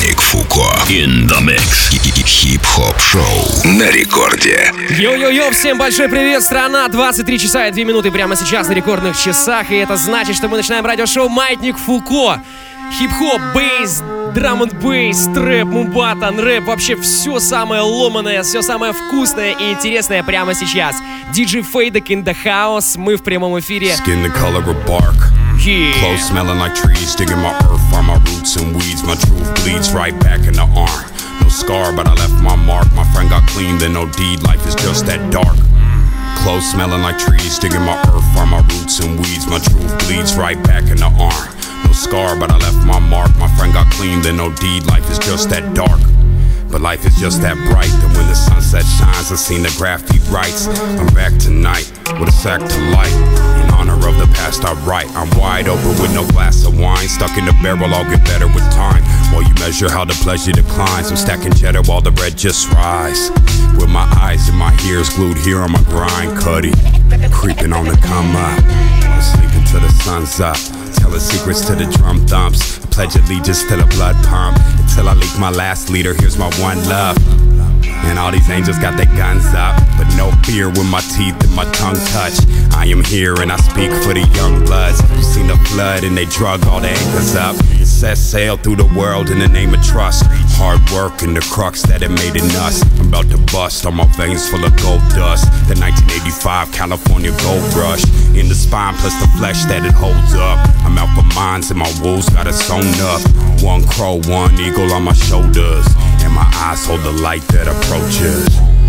Маятник Фуко in the mix. Хип-хоп шоу на рекорде. Йо-йо-йо, всем большой привет, страна! 23 часа и 2 минуты прямо сейчас на рекордных часах. И это значит, что мы начинаем радиошоу Маятник Фуко. Хип-хоп, бейс, драм-н-бейс, трэп, мумбатан, рэп. Вообще все самое ломаное, все самое вкусное и интересное прямо сейчас. DJ Fadek in the house. Мы в прямом эфире. Skin the color of bark. Clothes smelling like trees, digging my earth, find my roots and weeds. My truth bleeds right back in the arm. No scar, but I left my mark. My friend got clean, then no deed. Life is just that dark. Clothes smelling like trees, digging my earth, find my roots and weeds. My truth bleeds right back in the arm. No scar, but I left my mark. My friend got clean, then no deed. Life is just that dark. But life is just that bright. That when the sunset shines, I seen the graffiti writes. I'm back tonight with a sack to light. In honor of the past I write. I'm wide open with no glass of wine. Stuck in the barrel, I'll get better with time. While you measure how the pleasure declines, I'm stacking cheddar while the bread just rise. With my eyes and my ears glued here on my grind. Cuddy, creeping on the come up. I'm sleeping till the sun's up. Telling secrets to the drum thumps. Pledge allegiance to the blood pump. Until I leak my last leader, here's my one love. And all these angels got their guns up, but no fear when my teeth and my tongue touch. I am here and I speak for the young bloods. You seen the flood and they drug all the anchors up. It set sail through the world in the name of trust. Hard work and the crux that it made in us. I'm about to bust, all my veins full of gold dust. The 1985 California gold rush. In the spine plus the flesh that it holds up. I'm out for mines and my wolves got it sewn up. One crow, one eagle on my shoulders. And my eyes hold the light that approaches.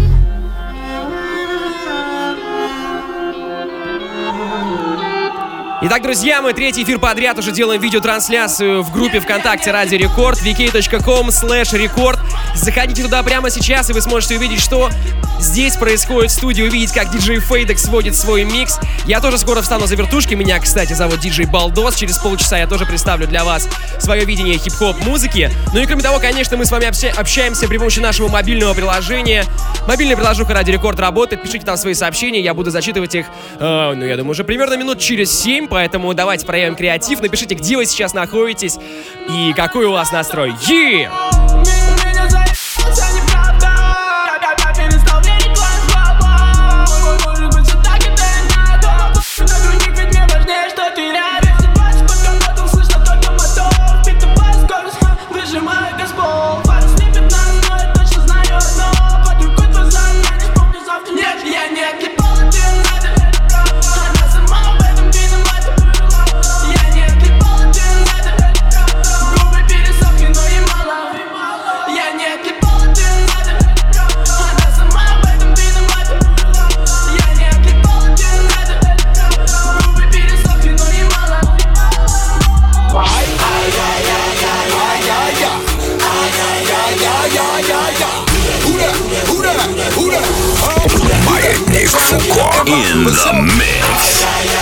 Итак, друзья, мы третий эфир подряд уже делаем видеотрансляцию в группе ВКонтакте Радио Рекорд, vk.com/record. Заходите туда прямо сейчас, и вы сможете увидеть, что здесь происходит в студии, увидеть, как DJ Fadek сводит свой микс. Я тоже скоро встану за вертушки. Меня, кстати, зовут DJ Балдос. Через полчаса я тоже представлю для вас свое видение хип-хоп музыки. Ну и кроме того, конечно, мы с вами общаемся при помощи нашего мобильного приложения. Мобильная приложуха Радио Рекорд работает. Пишите там свои сообщения, я буду зачитывать их, я думаю, уже примерно минут через 7. Поэтому давайте проявим креатив. Напишите, где вы сейчас находитесь и какой у вас настрой. Маятник Фуко in the mix.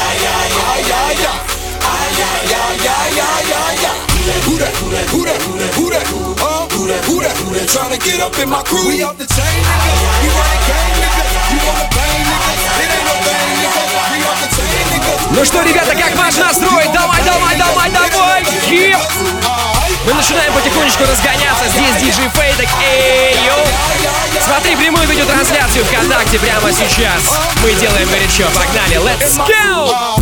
Tryna get up in my crew. We off the chain, nigga. We run the game, nigga. You wanna bang, nigga? It ain't no bang, nigga. We off the chain, nigga. Ну что, ребята, как ваш настрой? Давай! Мы начинаем потихонечку разгоняться. Здесь DJ Fadek. Эй, йоу! Смотри прямую видеотрансляцию ВКонтакте прямо сейчас. Мы делаем горячо. Погнали, let's go!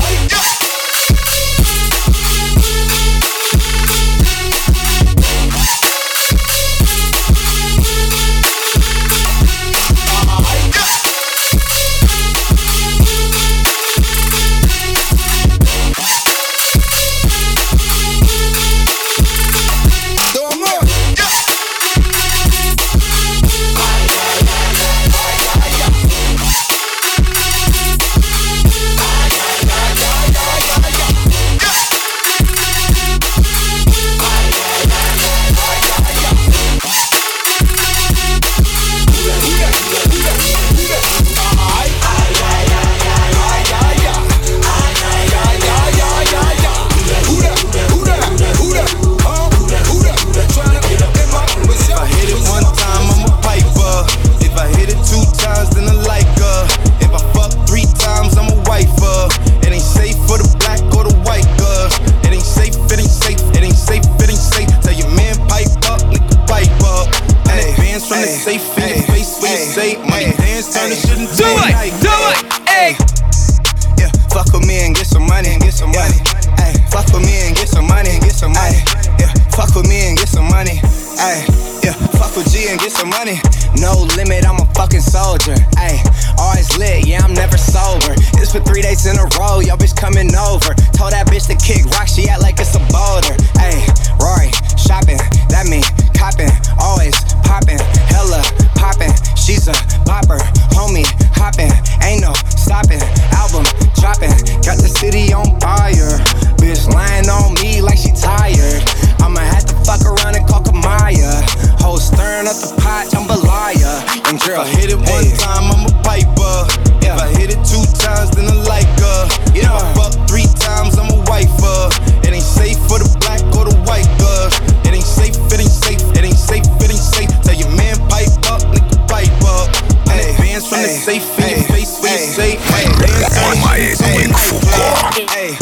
from the safe in your face when you say money dance, turn the shit into a night. Do it, hey. Yeah, fuck with me and get some money, get some money. Ay, fuck with me and get some money, get some money. Yeah, fuck with me and get some money. Ay, yeah, fuck with G and get some money. No limit, I'm a fucking soldier. Ay, always lit, yeah, I'm never sober. It's for 3 days in a row, yo bitch coming over. Told that bitch to kick rock, she act like it's a boulder. Ay, Rory, shopping, that mean copping, always popping, hella popping. She's a popper, homie, hopping, ain't no stopping. Album dropping, got the city on fire. Bitch lying on me like she tired. I'ma have to fuck around and call Kamaya. Whole stirring up the pot, jambalaya. And girl, if I hit it one time, I'm a piper. If I hit it 2 times, then I like her. If I fuck 3 times, I'm a wifer. It ain't safe for the black or the white girl. It ain't safe, it ain't safe, it ain't safe, it ain't safe. Tell your man pipe up, nigga pipe up. And advance from the safe in your face when you say Маятник Фуко.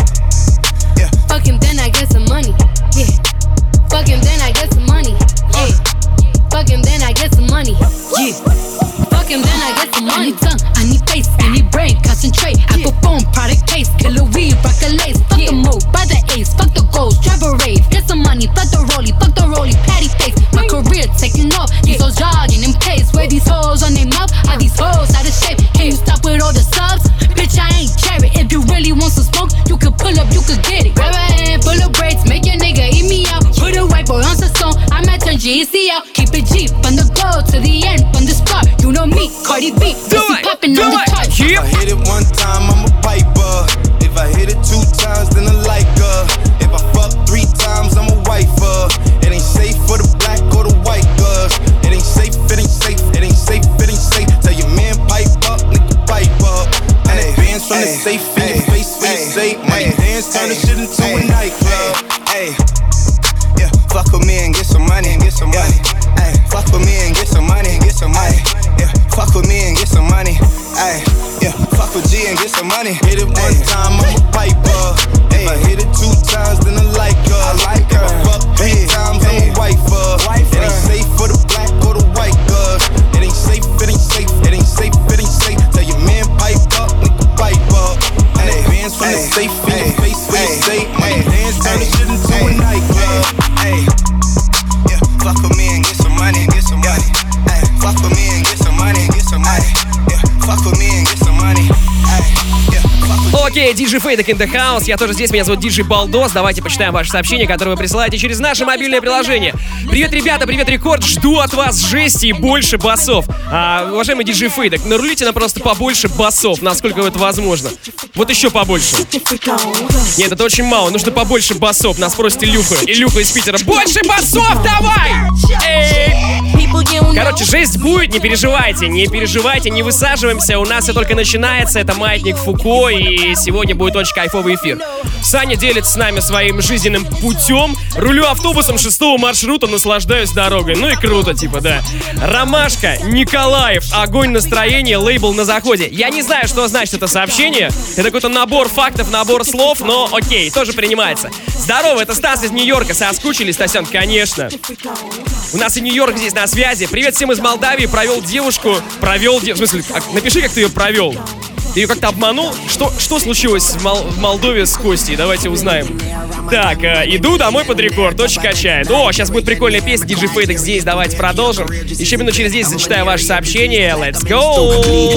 Fuck him, then I get some money. Yeah. Fuck him, then I get some money. Yeah. Fuck him, then I get some money. Yeah. Fuck him, then I get some money. I need tongue, I need face, I need brain, concentrate. Apple phone, product case, killer weed, rock a lace. Fuck the move, buy the ace, fuck the goals, drive a rave. Get some money, fuck the rollie, patty face. My career taking off, these hoes jogging in pace. Where these hoes on their mouth, are these hoes out of shape? Can you stop with all the subs? Bitch, I ain't cherry. If you really want some smoke, you can pull up, you could get it. Grab a hand full of braids, make your nigga eat me out. Put a white boy on the song, I might turn GEC out. Keep it G, from the go to the end, from the start. You know me, Cardi B, pussy poppin' on the chart. If I hit it 1 time, I'm a piper. If I hit it 2 times, then I like her. If I fuck 3 times, I'm a wifer. It ain't safe for the black or the white girls. It ain't safe, it ain't safe, it ain't safe, it ain't safe. Tell your man pipe up, nigga pipe up. And advance from the safe in your face when you say money dance, turn the shit into a nightclub. Ay, yeah, fuck with me and get some money, get some money. Ay, fuck with me and get some money, get some money. Yeah, fuck with me and get some money. Ay, yeah, fuck with G and get some money. Hit it 1 time, I'm a piper. If I hit it 2 times, then I like her. If I fuck 3 times, I'm a wifer. It ain't safe for the black or the white girls. It ain't safe, it ain't safe, it ain't safe, it ain't safe. Tell your man pipe up, nigga pipe up. And advance from the safe in your face when you say money dance, turn the shit into a nightclub. Ay, yeah, fuck with me and get some money, get some money. Ay, fuck with me and get some money, get some money. Yeah, fuck with me and get some money. Ay, yeah, fuck with me. Окей, DJ Fadek in the house. Я тоже здесь, меня зовут DJ Балдос. Давайте почитаем ваши сообщения, которые вы присылаете через наше мобильное приложение. Привет, ребята, привет, Рекорд. Жду от вас жести и больше басов. Уважаемый DJ Fadek, нарулите нам просто побольше басов, насколько это возможно. Вот еще побольше. Нет, это очень мало, нужно побольше басов. Нас просит Илюха. Илюха из Питера. Больше басов давай! Короче, жесть будет, не переживайте, не высаживаемся. У нас все только начинается. Это Маятник Фуко, и сегодня будет очень кайфовый эфир. Саня делится с нами своим жизненным путем. Рулю автобусом 6-го маршрута, наслаждаюсь дорогой. Ну и круто, типа, да. Ромашка, Николаев, огонь настроения, лейбл на заходе. Я не знаю, что значит это сообщение. Это какой-то набор фактов, набор слов, но окей, тоже принимается. Здорово, это Стас из Нью-Йорка. Соскучились, Стасян? Конечно. У нас и Нью-Йорк здесь на связи. Привет всем из Молдавии. Провел девушку. В смысле, напиши, как ты ее провел. Ты ее как-то обманул? Что случилось в Молдове с Костей? Давайте узнаем. Так, иду домой под рекорд. Очень качает. О, сейчас будет прикольная песня. DJ Fadek здесь. Давайте продолжим. Еще минут через 10 зачитаю ваше сообщение. Let's go!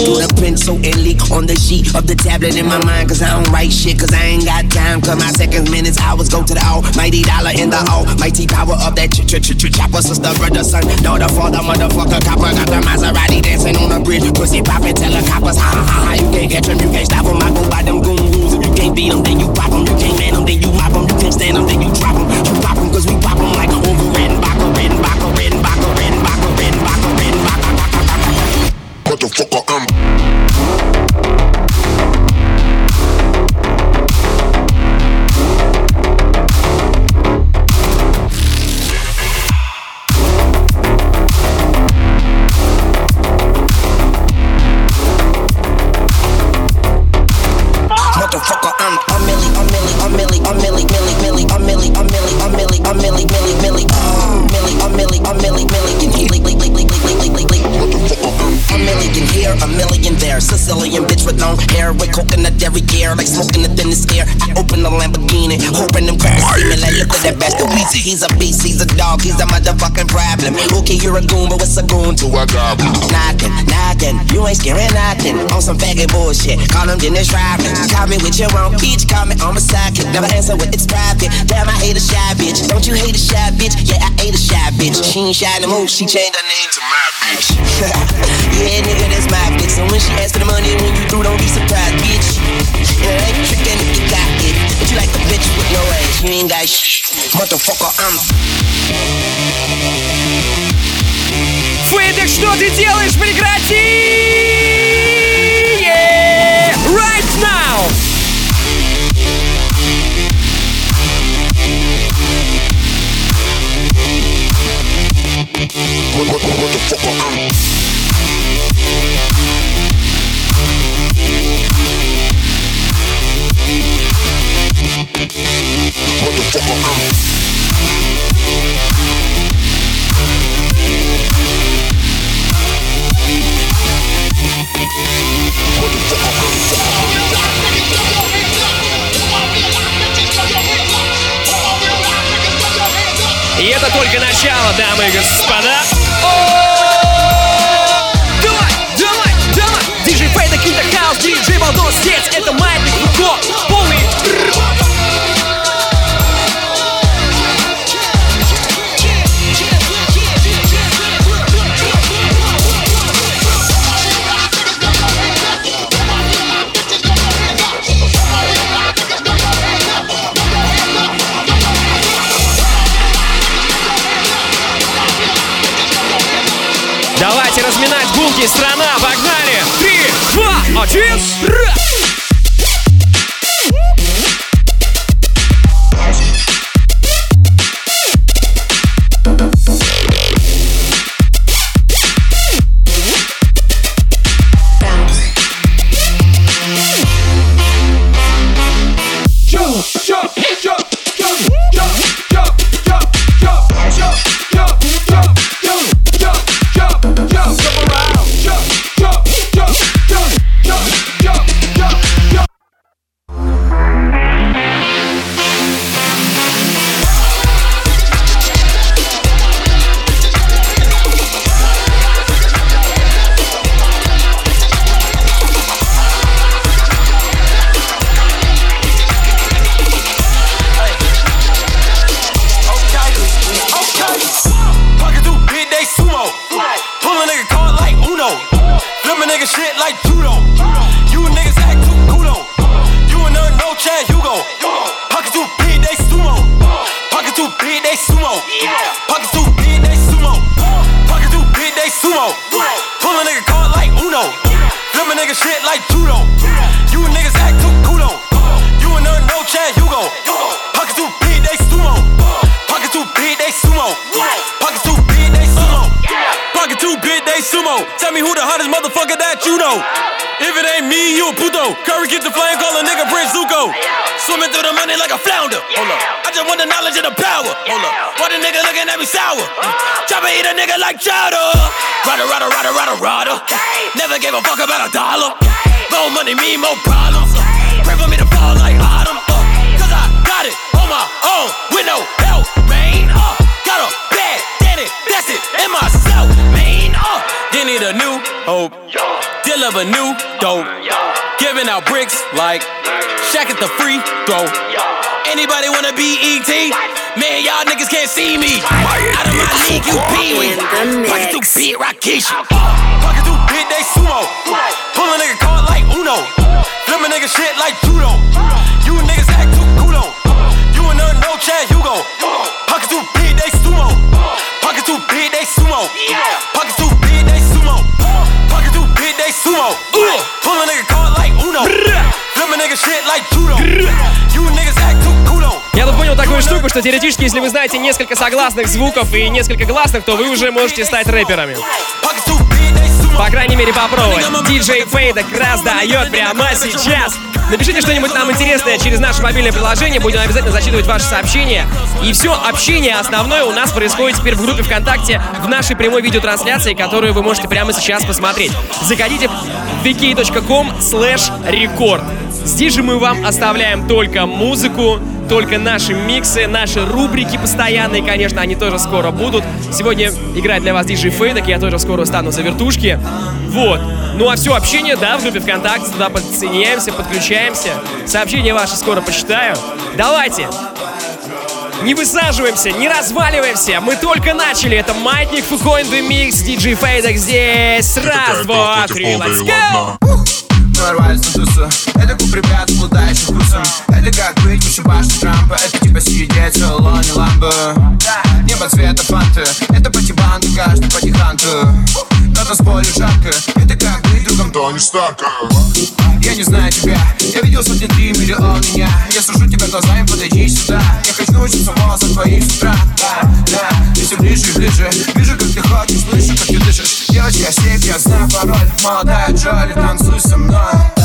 Catch them, you can't stop them. I go by them goon rules. If you can't beat them, then you pop them. You can't man them, then you mop them. You can't stand them, then you drop them. You pop them, cause we pop them like over and back, and back, and back, and back, and back, and back. Motherfucker, I'm with that bastard Weezy. He's a beast, he's a dog, he's a motherfucking problem. Okay, you're a goon, but what's a goon to a goblin? Knocking, you ain't scaring nothing. On some faggot bullshit, call him Dennis Rodman. Call me with your own peach, call me on my sidekick. Never answer with it's private. Damn, I hate a shy bitch. Don't you hate a shy bitch? Yeah, I hate a shy bitch. She ain't shy no more, she changed her name to my bitch. Yeah, nigga, that's my bitch. So when she asks for the money, when you through, don't be surprised, bitch. Yeah, that ain't trickin' if you got it. But you like a bitch with no ass, you ain't got shit. Motherfucker, I'm... Фейдек, что ты делаешь? Прекрати! Right now! Motherfucker, I'm... И это только начало, дамы и господа. Давай! Диджей Фейдек in the house, диджей Балдос здесь. Это Маятник Фуко, полный... Давайте разминать булки, страна, погнали! 3, 2, 1, раз! Tell me who the hottest motherfucker that you know. If it ain't me, you a puto. Curry get the flame, call a nigga Prince Zuko. Swimming through the money like a flounder. Hold up, I just want the knowledge and the power. Hold up, why the nigga looking at me sour? Chopper eat a nigga like chowder. Rada. Never gave a fuck about a dollar. More money, me, more problems. Pray for me to fall like autumn. Cause I got it on my own with no help, man. Got a bad daddy, that's it, in myself, man. They need a new hope, deal of a new dope. Giving out bricks like Shaq at the free throw. Anybody wanna be E.T.? Man, y'all niggas can't see me. Out of my league, you pee me. Pocket through beat, Rakisha. Pocket through beat, they sumo. Pull a nigga card like Uno. Flip a nigga shit like judo. You niggas act too kudo. You and no Chad Hugo. Pocket through beat, they sumo. Pocket through beat, they sumo. Pocket through beat, they sumo. Pocket through beat, they sumo. Pull a nigga card like Uno. Flip a nigga shit like judo. You niggas act too kudo. Я тут понял такую штуку, что теоретически, если вы знаете несколько согласных звуков и несколько гласных, то вы уже можете стать рэперами. По крайней мере, попробовать. Диджей Фейдек раздает прямо сейчас. Напишите что-нибудь нам интересное через наше мобильное приложение. Будем обязательно зачитывать ваши сообщения. И все общение основное у нас происходит теперь в группе ВКонтакте в нашей прямой видеотрансляции, которую вы можете прямо сейчас посмотреть. Заходите в vk.com/record. Здесь же мы вам оставляем только музыку, только наши миксы, наши рубрики постоянные, конечно, они тоже скоро будут. Сегодня играет для вас DJ Фейдек, я тоже скоро стану за вертушки. Вот. Ну а все общение, да, в группе ВКонтакте, туда подсоединяемся, подключаемся. Сообщения ваши скоро почитаю. Давайте! Не высаживаемся, не разваливаемся. Мы только начали. Это Маятник, Фукоин, Микс, DJ Фейдек здесь. Раз, два, три, let's go! Ворвались на тусу. Это клуб ребят, плутающих вкусом. Это как быть выше башни Трампа. Это типа сидеть в салоне ламбо. Небо цвета фанты. Это пати-банды, каждый пати-ханту. На танцполе жарко. Это как быть другом Тони Старка. Я не знаю тебя. Я видел сотни 3 миллиона меня. Я сужу тебя глазами, подойди сюда. Я хочу научиться волосы твоих с утра. Да, ты все ближе и ближе. Вижу, как ты ходишь, слышу, как ты дышишь. Девочка, сейф, я знаю пароль. Молодая Джоли, танцуй со мной.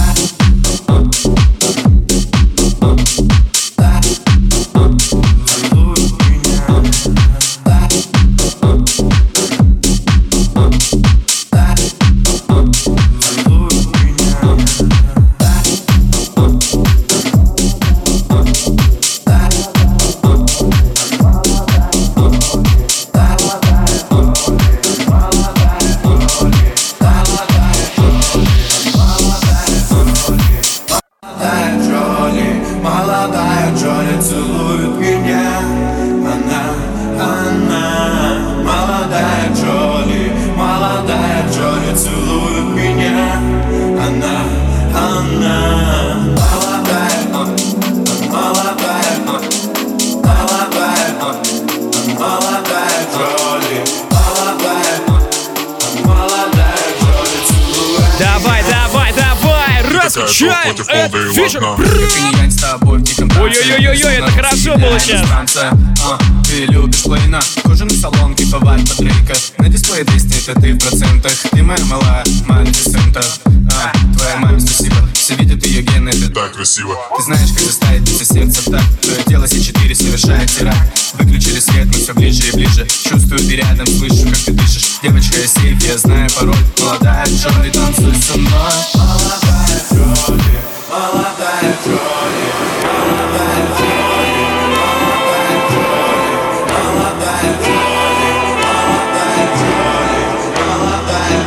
Ой-ой-ой-ой, это хорошо было сейчас. Ты любишь плейна, кожаный салон, кайфовать под рейка. На дисплее 200, это ты в процентах. Ты моя малая, Малефисента. Твоя маме спасибо, все видят ее гены, это так красиво. Ты знаешь, как заставить биться сердце в такт. Твое тело С4 совершает теракт. Выключили свет, мы все ближе и ближе. Чувствую, ты рядом, слышу, как ты дышишь. Девочка, я сейф, я знаю пароль. Молодая Джоли, танцуй со мной. Молодая Джоли, молодая Джоли, молодая Джоли, молодая Джоли, молодая Джоли, молодая Джоли, молодая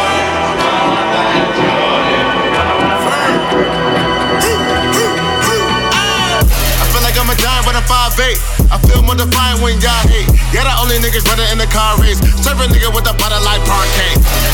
Джоли. I feel like I'm a giant when I'm 5'8". I feel more defiant when y'all hate. Yeah, the only niggas running in the car race. Serve a nigga with a butter like parquet.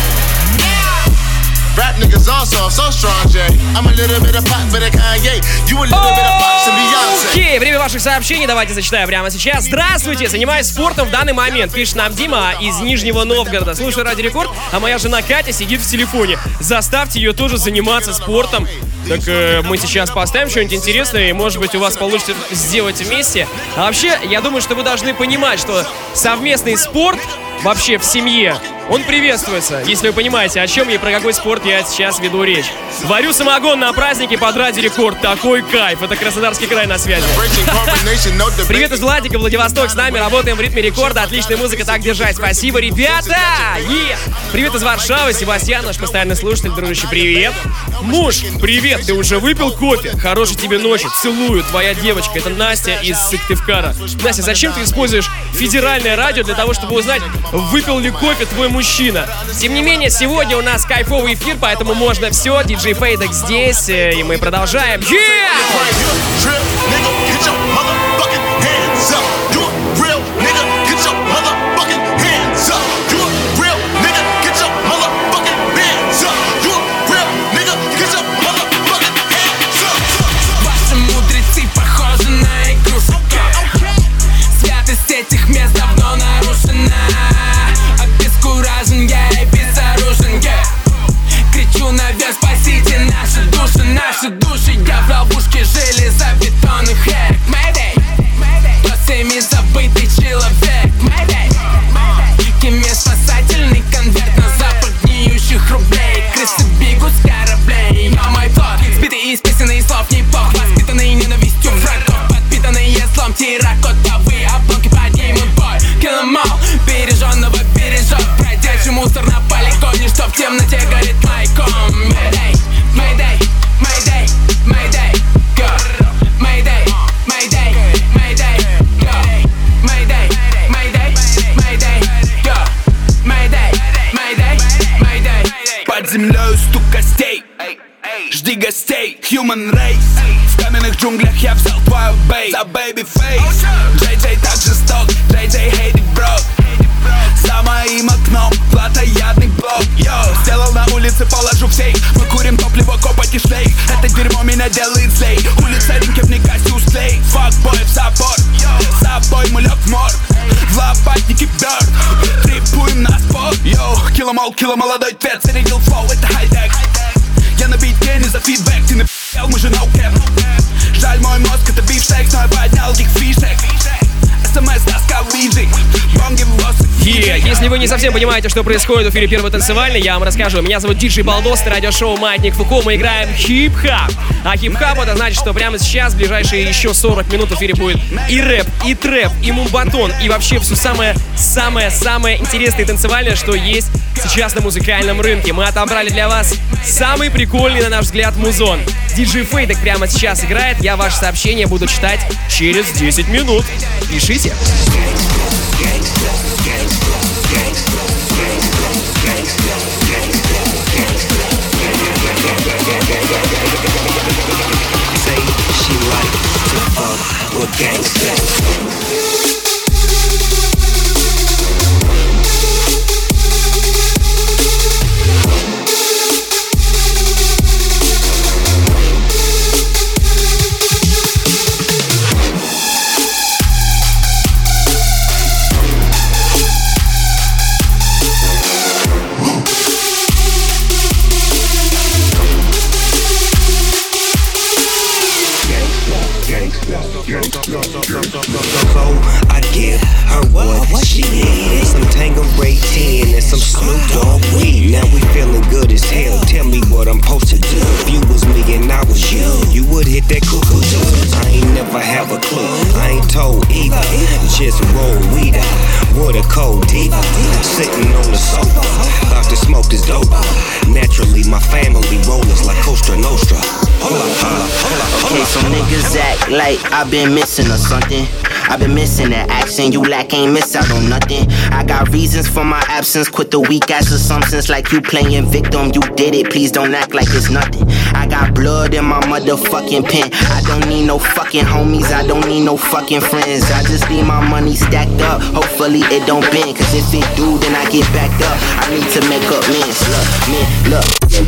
Rap niggas all soft, so strong, Jay. I'm a little bit of pop, bit of Kanye. You a little bit of Fox and Beyonce. Окей, время ваших сообщений, давайте зачитаю прямо сейчас. Здравствуйте, занимаюсь спортом в данный момент. Пишет нам Дима из Нижнего Новгорода. Слушаю Радио Рекорд, а моя жена Катя сидит в телефоне. Заставьте ее тоже заниматься спортом. Так мы сейчас поставим что-нибудь интересное, и, может быть, у вас получится сделать вместе. А вообще, я думаю, что вы должны понимать, что совместный спорт вообще в семье, он приветствуется, если вы понимаете, о чем и про какой спорт я сейчас веду речь. Варю самогон на празднике под Радио Рекорд. Такой кайф. Это Краснодарский край на связи. Привет из Владика, Владивосток. С нами работаем в ритме рекорда. Отличная музыка, так держать. Спасибо, ребята! Привет из Варшавы. Себастьян, наш постоянный слушатель, дружище, привет. Муж, привет. Ты уже выпил кофе? Хорошей тебе ночи. Целую. Твоя девочка. Это Настя из Сыктывкара. Настя, зачем ты используешь федеральное радио для того, чтобы узнать, выпил ли кофе твой мужчина? Тем не менее, сегодня у нас кайфовый эфир, поэтому можно все. DJ Фейдек здесь, и мы продолжаем. Ваши мудрецы похожи на игрушек. Святость этих мест давно нарушена. Обескуражен я и безоружен, кричу наверх, спасите наши души. Я в ловушке железобетонных рек. Mayday, кто всеми забытый человек. Mayday, кеме спасательный конверт на запах гниющих рублей. Крысы бегут с кораблей. Я мой плод, сбитый из песен и слов не бог. Воспитанный ненавистью врагов, подпитанные злом терракотовые обломки поднимут бой. Kill them all, береженного бережет. Бродячий мусор на полигоне, что в темноте горит майком. Mayday, Mayday, Mayday, Mayday, go. Mayday, Mayday, stay human race. В каменных джунглях я взял твою бейт за baby face. JJ так жесток, JJ hate it, bro. За моим окном плотоядный блок. Йоу, сделал на улице, положу в сейф. Мы курим топливо, копоть и шлейф. Это дерьмо меня делает злей. Улица Ринкев, не гасю слей. Факбой в забор, с собой мы лёг в морг. В лопатнике бёрд, трипуем на спорт. Йоу, кило молодой цвет, зарядил флоу, это хай-тек. Я на битке, не за фидбэк, ты напи***л, мы же ноу-кэп. Жаль, мой мозг это бифштейк, но я поднял их фишек. СМС-доска в виджик, бонги в лосы. Если вы не совсем понимаете, что происходит в эфире Первой танцевальной, я вам расскажу. Меня зовут Диджей Балдос, это радиошоу «Маятник Фуко». Мы играем хип-хап. А хип-хап — это значит, что прямо сейчас, в ближайшие еще 40 минут в эфире будет и рэп, и трэп, и мумбатон, и вообще все самое интересное и танцевальное, что есть сейчас на музыкальном рынке. Мы отобрали для вас самый прикольный, на наш взгляд, музон. Диджей Фейдек прямо сейчас играет. Я ваше сообщение буду читать через 10 минут. Пишите. I give her what she needed. Some Tanqueray 10 and some Snoop Dogg weed. Now we feeling good as hell. Tell me what I'm supposed to do. If you was me and I was you, you would hit that cuckoo too. I ain't never have a clue. I ain't told either. Just roll weed up with a cold diva. Sitting on the sofa. Thought the smoke is dope. Naturally, my family rollers like Costa Nostra. Okay, so niggas act like I've been missing or something. I've been missing that action, you lack, ain't miss out on nothing. I got reasons for my absence, quit the weak ass assumptions like you playing victim. You did it, please don't act like it's nothing. I got blood in my motherfucking pen. I don't need no fucking homies, I don't need no fucking friends. I just need my money stacked up, hopefully it don't bend. Cause if it do, then I get backed up. I need to make up mins, look.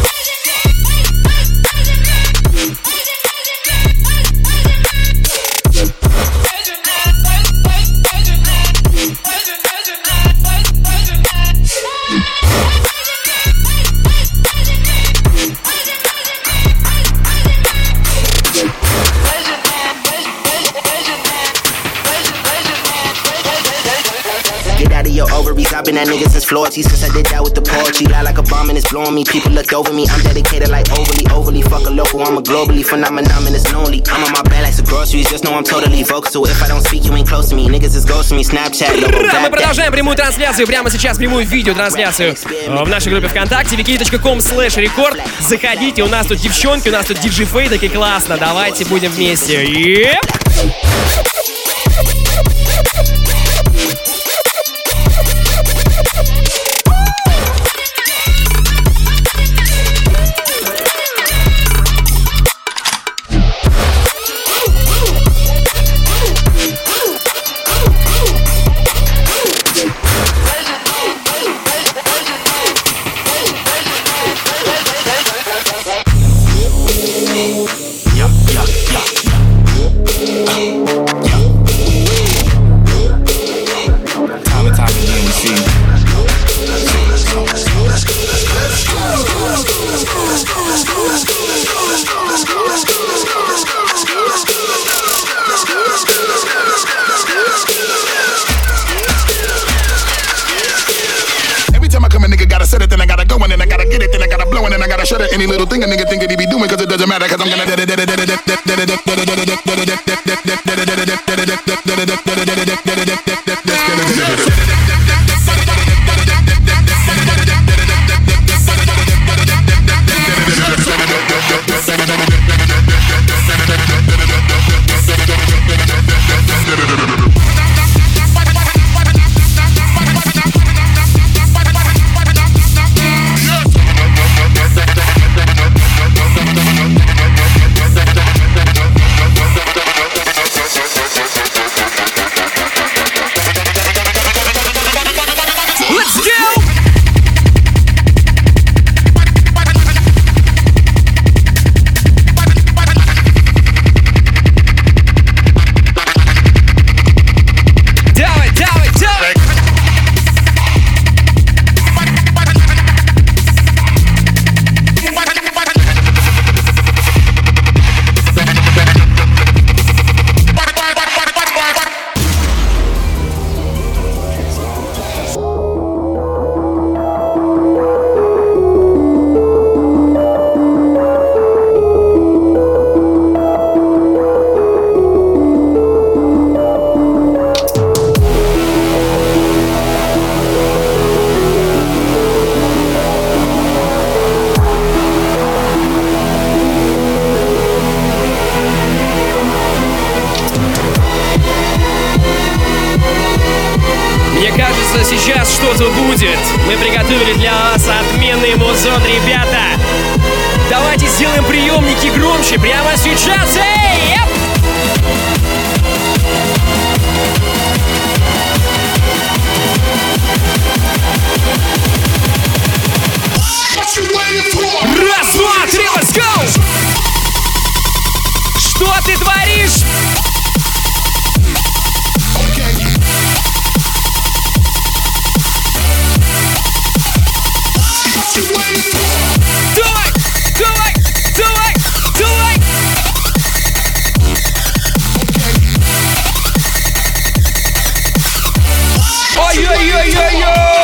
I've been that nigga since Floyd since I did that with the poetry. Lie like a bomb and it's blowing me. People looked over me. I'm dedicated like overly. Fuck a local, I'm a globally phenomenon and it's lonely. I'm on my bed like some groceries. Just know I'm totally vocal. So if I don't speak, you ain't close to me. Niggas is ghosting me. Snapchat, logo. Да, мы продолжаем прямую трансляцию. Прямо сейчас прямую видеотрансляцию в нашей группе ВКонтакте vk.com/record. Заходите, у нас тут девчонки, у нас тут диджей Фейдек и классно. Давайте будем вместе. Any little thing a nigga think that he be doing, cause it doesn't matter, cause I'm gonna Мне кажется, сейчас что-то будет. Мы приготовили для вас отменный музон, ребята. Давайте сделаем приемники громче прямо сейчас. Эй! Раз, два, три, let's go! Что ты творишь? Давай, давай, давай, давай! Ой-ой-ой-ой-ой!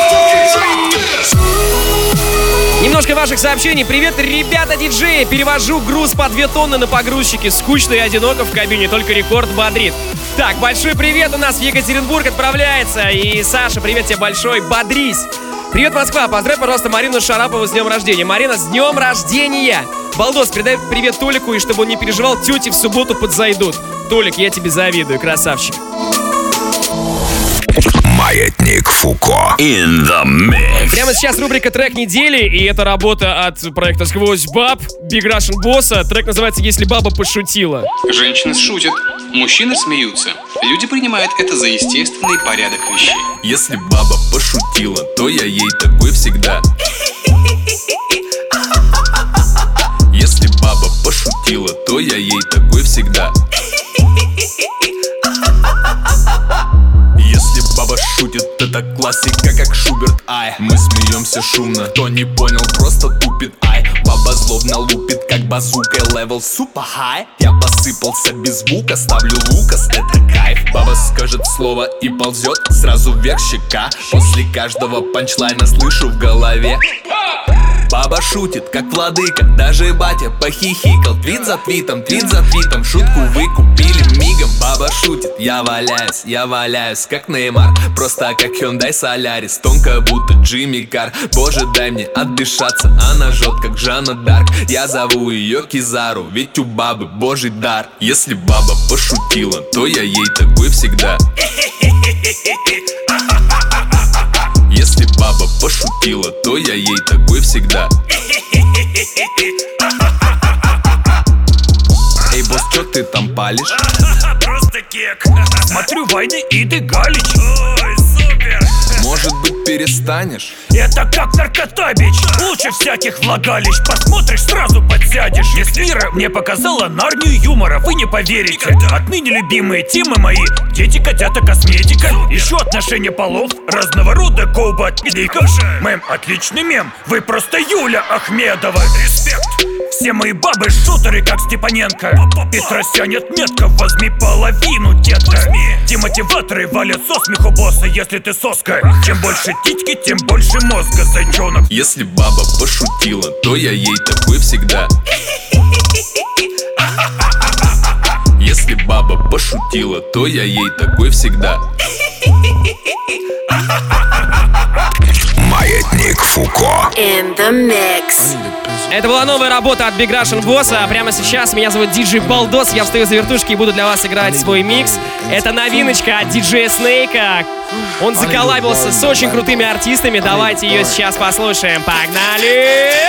Немножко ваших сообщений. Привет, ребята, диджеи. Перевожу груз по 2 тонны на погрузчике. Скучно и одиноко в кабине, только рекорд бодрит. Так, большой привет у нас в Екатеринбург отправляется. И Саша, привет тебе большой, бодрись. Привет, Москва, поздравь, пожалуйста, Марину Шарапову с днем рождения. Марина, с днем рождения. Балдос, передай привет Толику, и чтобы он не переживал, тети в субботу подзайдут. Толик, я тебе завидую, красавчик. Маятник Фуко in the mix. Прямо сейчас рубрика «Трек недели», и это работа от проекта «Сквозь баб» Big Russian Boss. Трек называется «Если баба пошутила». Женщины шутят, мужчины смеются. Люди принимают это за естественный порядок вещей. Если баба пошутила, то я ей такой всегда. Если баба пошутила, то я ей такой всегда. Если баба шутит, это классика, как Шуберт, ай. Мы смеемся шумно, кто не понял, просто тупит, ай. Баба злобно лупит, как базука, левел супер хай. Я посыпался без звука, ставлю Лукас, это кайф. Баба скажет слово и ползет сразу вверх щека. После каждого панчлайна слышу в голове. Баба шутит, как владыка, даже батя похихикал. Твит за твитом, шутку вы купили мигом. Баба шутит, я валяюсь, как Неймар. Просто как Hyundai Solaris, тонко будто Джимми Кар. Боже, дай мне отдышаться, она жжет, как Жанна Дарк. Я зову ее Кизару, ведь у бабы божий дар. Если баба пошутила, то я ей такой всегда. Если баба пошутила, то я ей такой всегда. Эй, босс, чё ты там палишь? Просто кек. Смотрю войны и ты галич. Ой, супер. Может быть, перестанешь? Это как наркота, бич. Лучше всяких влагалищ. Посмотришь, сразу подсядешь. Если мира мне показала Нарнию юмора, вы не поверите. Отныне любимые темы мои: дети, котята, косметика. Еще отношения полов, разного рода коуба от пиликов. Мэм, отличный мем. Вы просто Юля Ахмедова. Респект. Все мои бабы шутеры, как Степаненко. Петросянет метко, возьми половину, детка. Демотиваторы валят со смеху босса, если ты соска. Чем больше титьки, тем больше мозга, зайчонок. Если баба пошутила, то я ей такой всегда. Если баба пошутила, то я ей такой всегда. Маятник Фуко in the mix. Это была новая работа от Big Russian Boss. А прямо сейчас меня зовут диджей Балдос. Я встаю за вертушки и буду для вас играть свой микс. Это новиночка от диджея Снейка. Он заколлабился с очень крутыми артистами. Давайте ее сейчас послушаем. Погнали!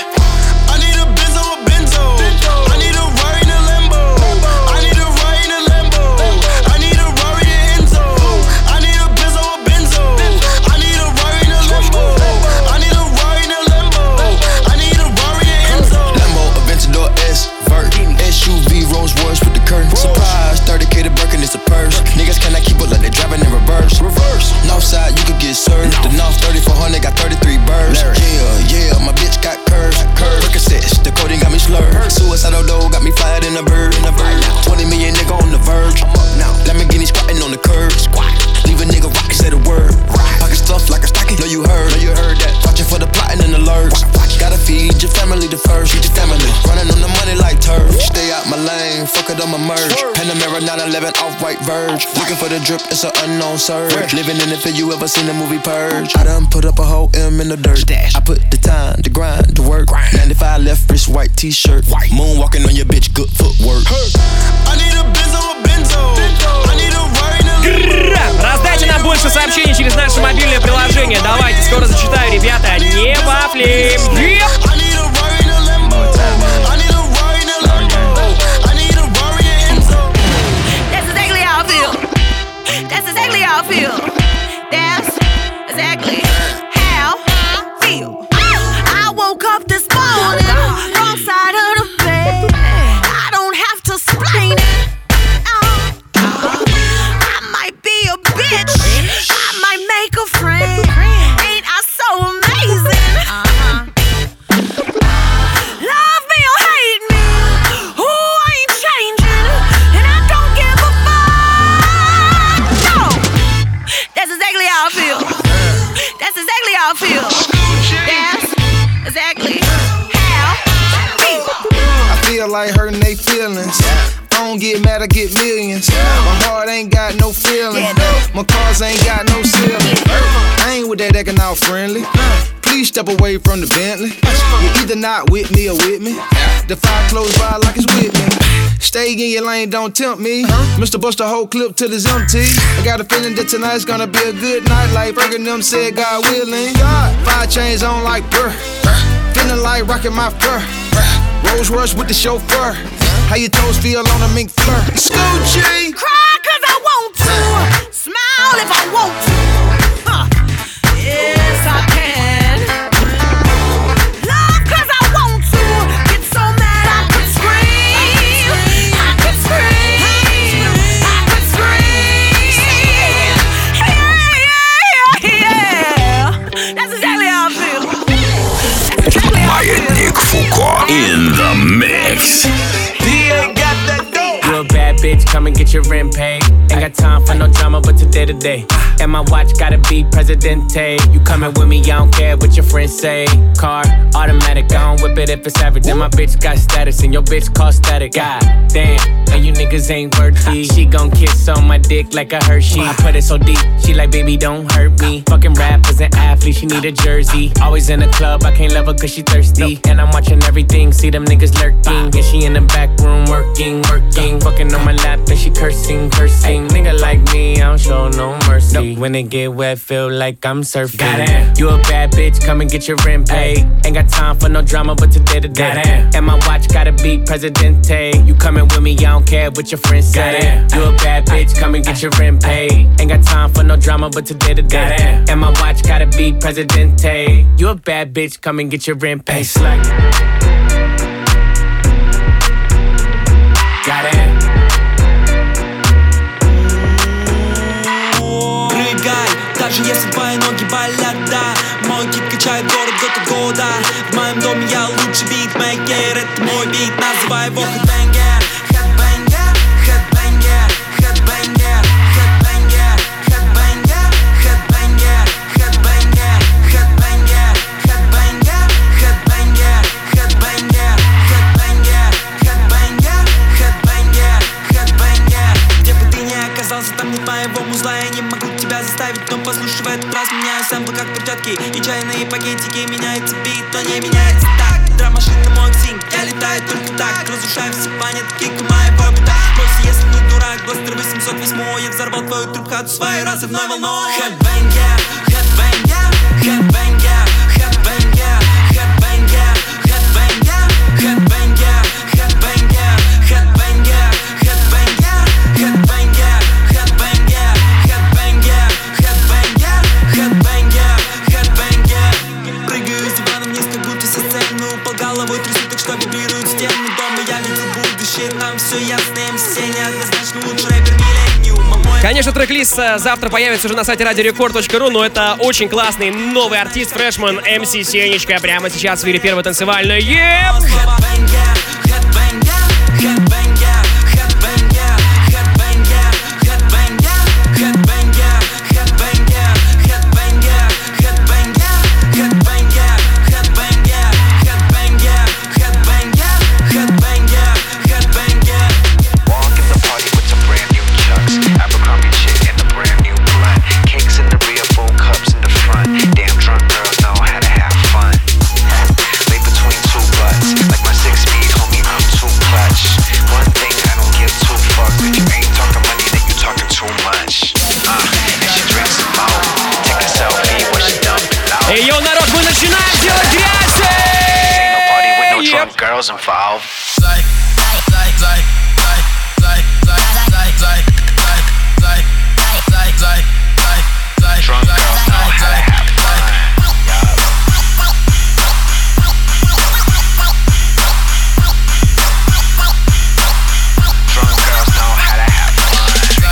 Surprise, 30K to Birkin, it's a purse. Niggas cannot keep up like they driving in reverse. Northside, you could get served. The North 3400 got 33 birds. Yeah, my bitch got curves. Percocets, the coding got me slurred. Suicidal dough got me fired in a bird. 20 million nigga on the verge. Lamborghini squatting on the curb. Leave a nigga rock, say the word. Pocket stuff like a stocking. Know you heard that. Watching for the plotting and the lurks. Gotta feed your family the first. Feed your family. Running on the money like turf. Stay out my lane, fuck it, I'ma merge. Panamera 911 off-white verge. Looking for the drip, it's an unknown surge. Living in the field, you ever seen the movie Purge? I done put up a whole M in the dirt. I put the time, the grind, the work. 95 left wrist, white t-shirt. Moonwalking on your bitch, good footwork. I need a Benzo, I need a Rari. Раздача на больше сообщений через наше мобильное приложение. Давайте, скоро зачитаю, ребята. Не вафли. That's exactly how I feel. That's exactly how I feel. I woke up this morning, wrong side of the bed. I don't have to explain it. I might be a bitch, I might make a friend. Ain't I so amazing? Love me or hate me, who ain't changing, and I don't give a fuck. No, that's exactly how I feel. That's exactly how I feel. That's exactly how I feel. I feel like hurting they feelings. I don't get mad, I get millions. My heart ain't got no feeling. My cars ain't got no ceiling. I ain't with that acting all friendly. Please step away from the Bentley. You're either not with me or with me. The fire close by like it's with me. Stay in your lane, don't tempt me. Mr. Bust the whole clip till it's empty. I got a feeling that tonight's gonna be a good night. Like Fergie them said, God willing. 5 chains on like burr. Feeling like rocking my fur. Rolls Royce with the chauffeur. How your toes feel on a mink fur? Scoochie. Cry cause I want to. Smile if I want to. Yes, I can. Love cause I want to. Get so mad I could scream. I could scream. I could scream. Yeah. That's exactly how I feel. That's exactly how I feel. Маятник Фуко in the mix. You a bad bitch, come and get your rent paid. Ain't got time for no drama, but today to day. And my watch gotta be Presidente. You coming with me, I don't care what your friends say. Car, automatic, I don't whip it if it's average. And my bitch got status, and your bitch call static. God damn, and you niggas ain't worthy. She gon' kiss on my dick like a Hershey. I put it so deep, she like, baby, don't hurt me. Fucking rappers and athletes, she need a jersey. Always in the club, I can't love her cause she thirsty. And I'm watching everything, see them niggas lurking. And she in the back room working. Fucking on my lap and she cursing. Nigga like me, I don't show no mercy. When it get wet, feel like I'm surfing. Goddamn. You a bad bitch, come and get your rent paid. Ain't got time for no drama, but today to day. Goddamn. And my watch gotta be Presidente. You coming with me, I don't care what your friends say. Goddamn. You a bad bitch, come and get your rent paid. Ain't got time for no drama, but today to day. Goddamn. And my watch gotta be Presidente. You a bad bitch, come and get your rent paid. Slack. Goddamn. Даже если твои ноги болят, да. Мой кит качает город год от года. В моем доме я лучший битмейкер. Это мой бит, называй его хэдбэнгер. Хэдбэнгер, хэдбэнгер, хэдбэнгер, хэдбэнгер, хэдбэнгер, хэдбэнгер, хэдбэнгер, хэдбэнгер, хэдбэнгер, хэдбэнгер, хэдбэнгер, хэдбэнгер, хэдбэнгер, хэдбэнгер, хэдбэнгер. Где бы ты ни оказался, там нет моего музла. Я не могу тебя заставить, но послушай в этот раз. Меняю сэмплы как перчатки и чайные пакетики. Меняется бит, но не меняется так. Драм-машина мой ксинг, я летаю только так. Разрушаю все планеты, кик моего бита. Бойся, если не дурак, Бластер 808. Я взорвал твою трубхату своей разрывной волной. Хэдбэнгер, хэдбэнгер, хэдбэнгер, хэдбэнгер, хэдбэнгер, хэдбэнгер, хэдбэнгер, хэдбэнгер, хэдбэнгер, хэдбэнгер, хэдбэнгер, хэдбэнгер, хэдбэнгер, хэдбэнгер, хэдбэнгер, хэдбэнгер. Прыгаю с дивана вниз, как будто со сцены упал, головой трясу, так что вибрируют стены дома. Я видел будущее, там все ясно, МС неоднозначно лучший рэпер миллениума. Конечно, трек-лист завтра появится уже на сайте radiorecord.ru, но это очень классный новый артист, фрешман МС Сенечка. Прямо сейчас в эфире первой танцевальной. Damn drunk girls know how to have fun. Lay between two butts, like my girls involved. Drunk girls know how to have fun. Drunk girls know how to have fun.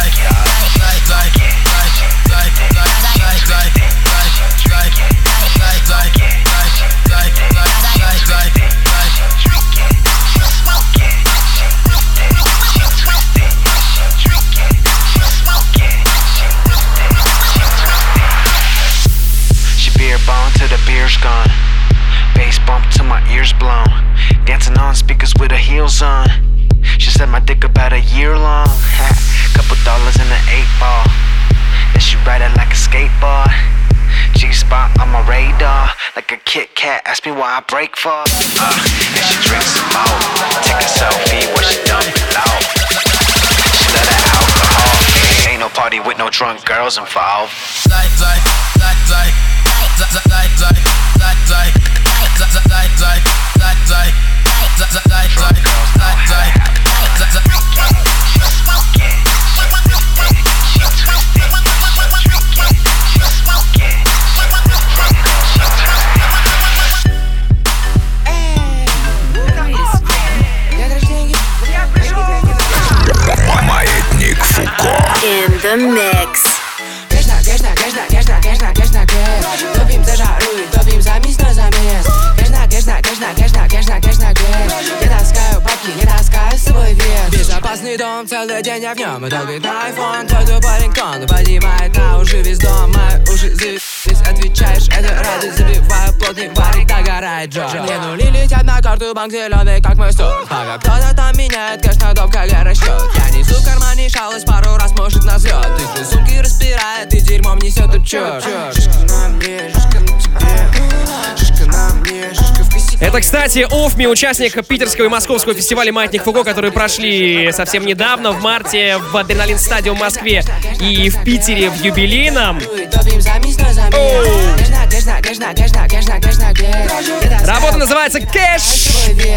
Till the beer's gone. Bass bump till my ears blown. Dancing on speakers with her heels on. She said my dick about a year long. Couple dollars in an 8-ball. Then she ride it like a skateboard. G-spot on my radar. Like a Kit Kat, ask me why I break for. And she drinks some more. Take a selfie where she dump it out. She let her alcohol. Ain't no party with no drunk girls involved. Маятник Фуко. In the mix. Топим за жару и топим за мисс на замес. Я таскаю бабки, я таскаю свой вес. Безопасный дом, целый день я в нем. И долбит на айфон, твой парень кон. Поднимает на уши весь дом, мои уши завис. Отвечаешь, это радость, забиваю плотный варик, догорает Джо. Мне нули летят на карту, банк зеленый, как мой стол. Пока кто-то там меняет кэш на доп, как расчет. Я несу в кармане шалость, пару раз может на взлет. Ты же сумки распирает, и дерьмом несет учет. Шишка на мне, шишка на тебе. Шишка на мне, шишка в косяке. Это, кстати, Офми, участник питерского и московского фестиваля «Маятник Фуко», которые прошли совсем недавно, в марте, в Адреналин Стадиум в Москве и в Питере в юбилейном. Работа называется «Кэш».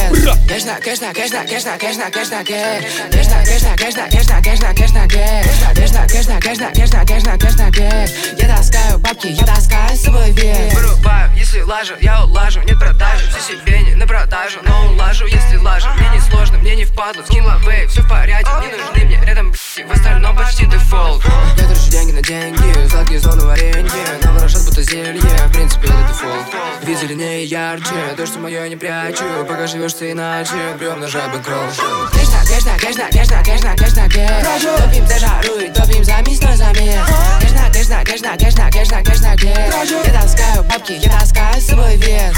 Я таскаю бабки, я таскаю свой вес. Вырубаю, если лажу, я улажу, нет продажи. Все себе не на продажу, но улажу, если лажу. Мне не сложно, мне не впадло, скинула вейв, все в порядке. Не нужны мне рядом в остальном почти дефолт. Я трачу деньги на деньги, сладкие зоны варенье. Наворошат будто зелье, в принципе это дефолт. Вид зеленее ярче, то, что мое не прячу. Пока живешь ты иначе, прием на жабы кролл. Топим за жару и топим за мисс на замес. Я таскаю бабки, я таскаю свой вес.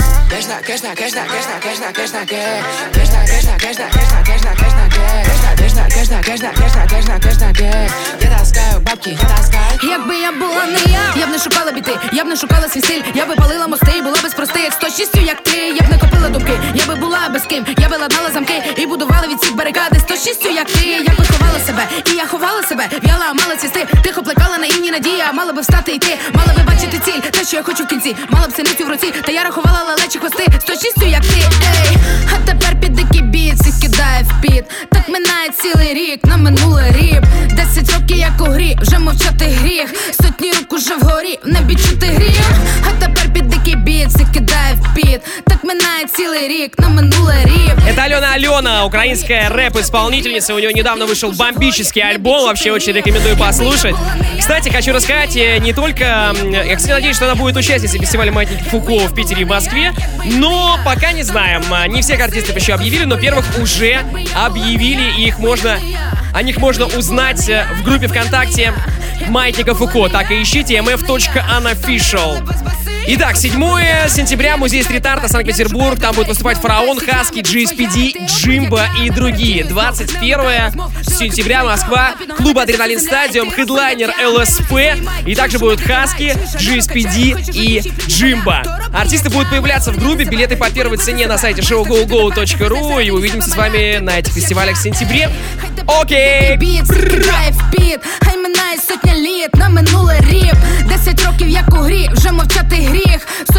Я таскаю бабки, я таскаю. Якби я була не я б не шукала біти, я б не шукала свій стиль. Я би палила мости, була без простих 106 як ти, я б не копила дубки. Я би була без ким, я би ладнала замки і будувала від всіх барикади 106 як ти. Я би ховала себе, і я ховала себе. В'яла, мала цвісти, тихо плекала наївні надія. Мала би встати і йти, мала би бачити ціль, те, що я хочу в кінці. Мала б синицю в руці, та я рахувала лелечі хвости 106 як ти, ей. А тепер під дикий біт, всіх кидає в піт. Так минає цілий рік, на минуле ріп. 10 років як у грі, вже мовчати гріх. Сотні рук уже вгорі, в небі чути гріх. А тепер під дикий біт, всіх кидає в піт. Так минає цілий рік, на минуле ріп. Это Алена, украинская рэп-исполнительница. У нее недавно вышел бомбический альбом. Вообще очень рекомендую послушать. Кстати, хочу рассказать не только... Я, кстати, надеюсь, что она будет участницей фестиваля «Маятник Фуко» в Питере и в Москве. Но пока не знаем. Не всех артистов еще объявили, но первых уже объявили. И о них можно узнать в группе ВКонтакте «Маятника Фуко». Так и ищите mf.unofficial. Итак, 7 сентября, музей стрит-арта, Санкт-Петербург. Там будет выступать Фараон, Хаски, GSPD, Джимбо и другие. 21 сентября, Москва, клуб Адреналин Стадиум, хедлайнер ЛСП. И также будут Хаски, GSPD и Джимбо. Артисты будут появляться в группе. Билеты по первой цене на сайте showgogo.ru. И увидимся с вами на этих фестивалях в сентябре. Окей! Хай минає сотня літ, на минуле ріп. 10 років як у грі, вже мовчати гріх.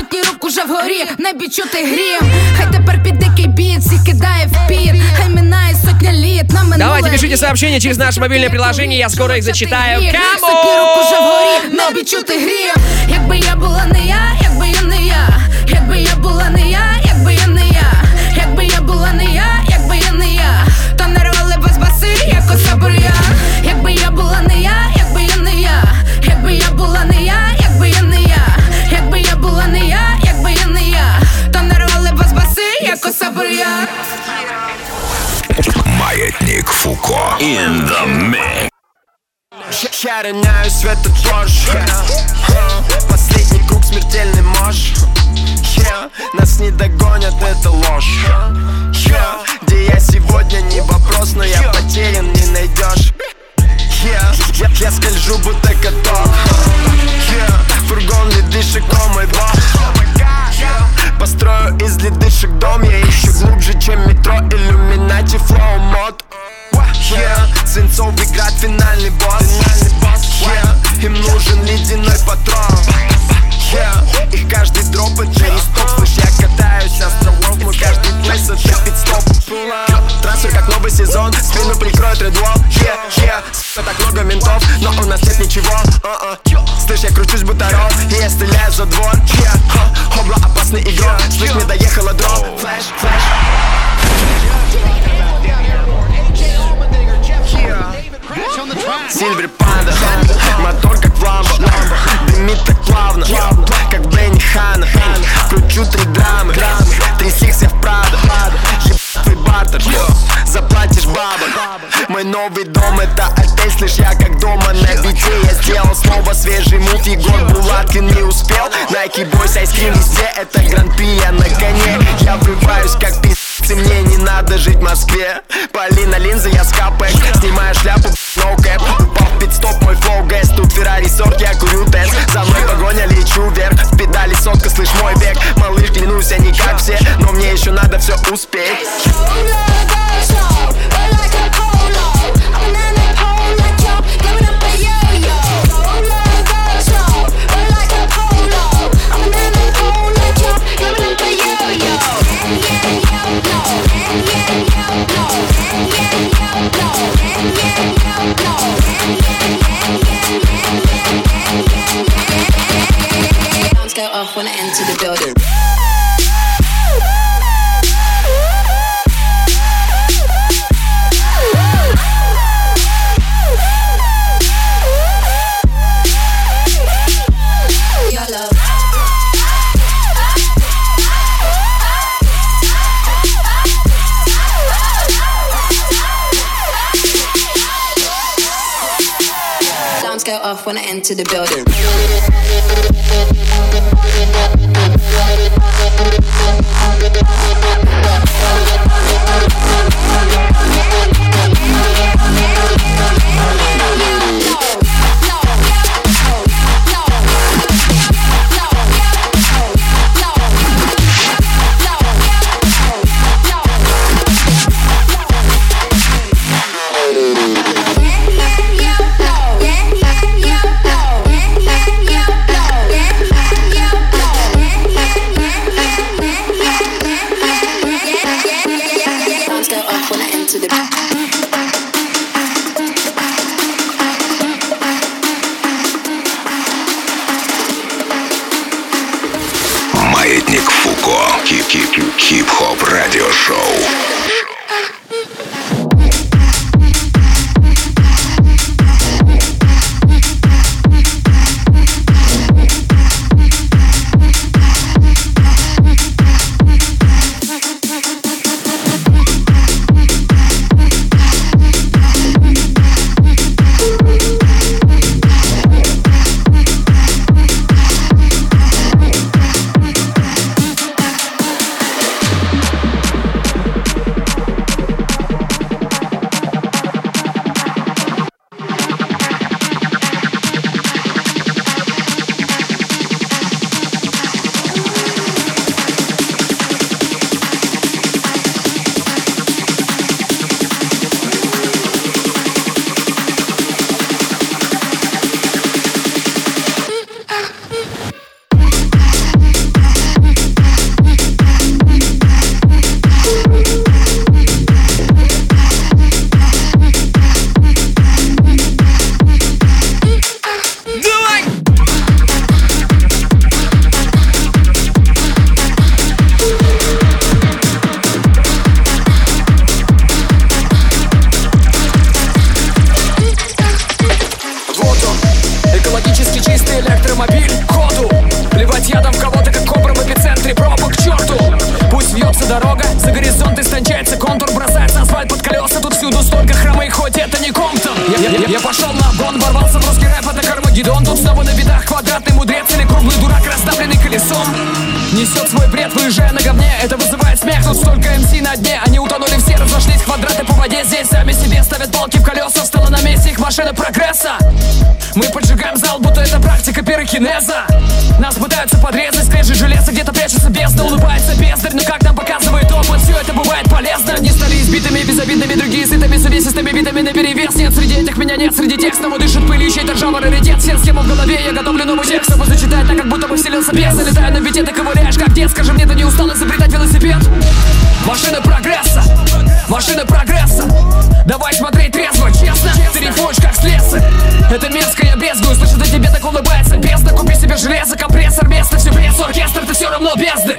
сотні рук уже вгорі, в небі чути грім. Хай тепер під дикий біт, всіх кидає в піт. Хай минає сотня літ, на минуле. Давайте пишите сообщения через наше мобильное приложение, я скоро их зачитаю. Сотні рук уже вгорі, в небі чути грім. Якби я була не я, якби я не я. Якби я була не я, якби я не я. Якби я була не я, якби я не я. То не рвали без баси, як оса бур'ян. Якби я була не я, якби я не я. Якби я була не я, якби я не я. Якби я була не я, якби я не я. То не рвали без баси, як оса бур'ян. Маятник Фуко in the mix. Я роняю светофорж. Последний круг смертельный мож. Нас не догонят, это ложь. Где я сегодня не вопрос, но я потерян, не найдешь. Я скольжу, будто каток. Фургон ледышек, о мой бог. Построю из ледышек дом. Я ищу глубже, чем метро, иллюминати, флоу мод. Свинцовый град, финальный босс. Им нужен ледяной патрон. Их каждый дроп это не стоп. Слышь, я катаюсь островов. Мой каждый плейс это пит-стоп. Трансфер как новый сезон. Спину прикроет редлов. Так много ментов, но у нас нет ничего. Слышь, я кручусь будто рот. И я стреляю за двор. Хобла опасный игрок. Слышь, мне доехала дроп. Флэш, флэш. Сильвер Панда, мотор как в ламбо. Дымит так плавно, как Бенни Ханна. Кручу 3 драмы, 3 сикс я в Прадо. Ебать твой бартер, заплатишь бабок. Мой новый дом это отель, слышь, я как дома на бите. Я сделал снова свежий мув, Егор Булаткин не успел. Nike Boys, айскрим везде, это гран-при, я на коне. Я врываюсь как пиздец, и мне не надо жить в Москве. Полина линзы, я с капек, снимаю шляпу, no cap. Упал в пит-стоп, мой флоу гэс. Тут Феррари сорт, я курю тенс. За мной погоня, лечу вверх. В педали сотка, слышь, мой век. Малыш, клянусь, я не как все, но мне еще надо все успеть. Go off when I enter the building. Alarms go off when I enter the building. Маятник Фуко. Хип-хоп радиошоу. Круглый дурак, раздавленный колесом, несет свой бред, выезжая на говне. Это вызывает смех, тут столько МС на дне. Они утонули все, разошлись квадраты по воде. Здесь сами себе ставят палки в колеса. Встала на месте их машина прогресса. Мы поджигаем зал, будто это практика пирокинеза. Нас пытаются подрезать, скрежет железо, где-то прячется бездна. Улыбается бездарь, но как нам показывает опыт, все это бывает полезно. Одни стали избитыми, безобидными, другие сытыми, с увесистыми видами наперевес. Нет, среди этих меня нет, среди тех, кому дышит пыль, чей-то ржавый раритет. Все схему в голове, я готовлю новый текст, чтобы зачитать так, как будто бы вселился бес. Залетаю на бите, ты ковыряешь, как дед. Скажи мне, ты не устал изобретать велосипед? Машина прогресса, машина прогресса. Давай смотреть трезво, честно. Ты рифуешь, как с леса. Это мерзко, я брезгую, слышу, за тебе так улыбается бездна. Купи себе железо, компрессор, место, все пресс, оркестр, ты все равно бездны.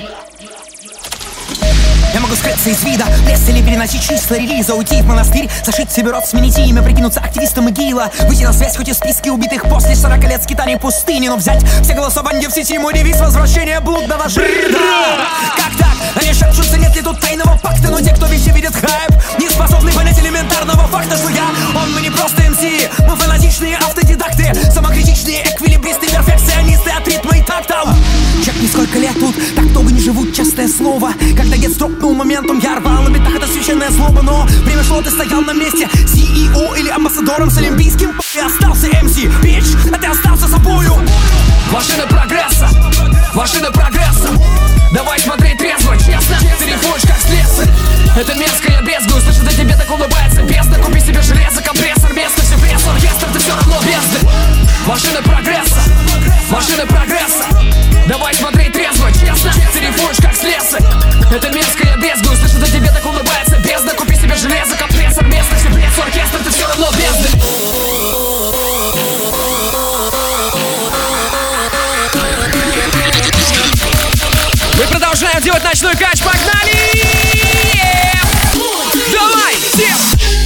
Я могу скрыться из вида, пресс или переносить числа релиза. Уйти в монастырь, зашить себе рот, сменить имя, прикинуться активистом ИГИЛа. Выйти на связь, хоть и в списке убитых после 40 лет скитаний пустыни. Но взять все голосования в сети, мой девиз — возвращение блудного жида. Как так? Они шепчутся, нет ли тут тайного пакта. Но те, кто везде видит хайп, не способны понять элементарного факта, что мы не просто МС, мы фанатичные автодидакты, самокритичные эквилибристы, перфекционисты от ритма и такта. Чекни, сколько лет тут, так долго не живут, честное слово. Когда дед стропнул моментом, я рвал на битах, это священная злоба. Но время шло, ты стоял на месте, CEO или амбассадором с олимпийским. И остался МС, бич, а ты остался собою. Машина прогресса, машина прогресса. Давай смотреть трезво, честно. Ты рифуешь, как с леса. Это мерзко, я брезгую, слышу, за тебе так улыбается бездна. Купи себе железо, компрессор, место, все пресс, оркестр, ты все равно бездны. Машина прогресса, машина прогресса. Давай смотреть трезво, честно. Ты рифуешь, как с леса. Это мерзко, я брезгую, слышу, за тебе так улыбается бездна. Купи себе железо, компрессор, место, все пресс, оркестр, ты все равно бездны. Мы продолжаем делать ночной кач, погнали! Давай, всем!